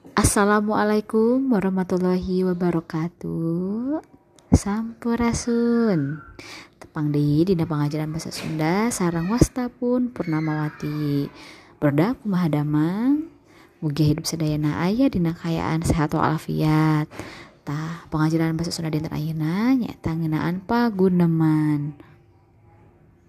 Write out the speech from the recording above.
Assalamualaikum warahmatullahi wabarakatuh. Sampurasun. Tepang deui dina pangajaran basa Sunda sareng wastapun Purnamawati. Berda kumaha damang? Mugi hidup sadayana aya dina kaayaan sehat walafiat. Tah, pangajaran basa Sunda dinten ayeuna nyaeta ngeunaan paguneman.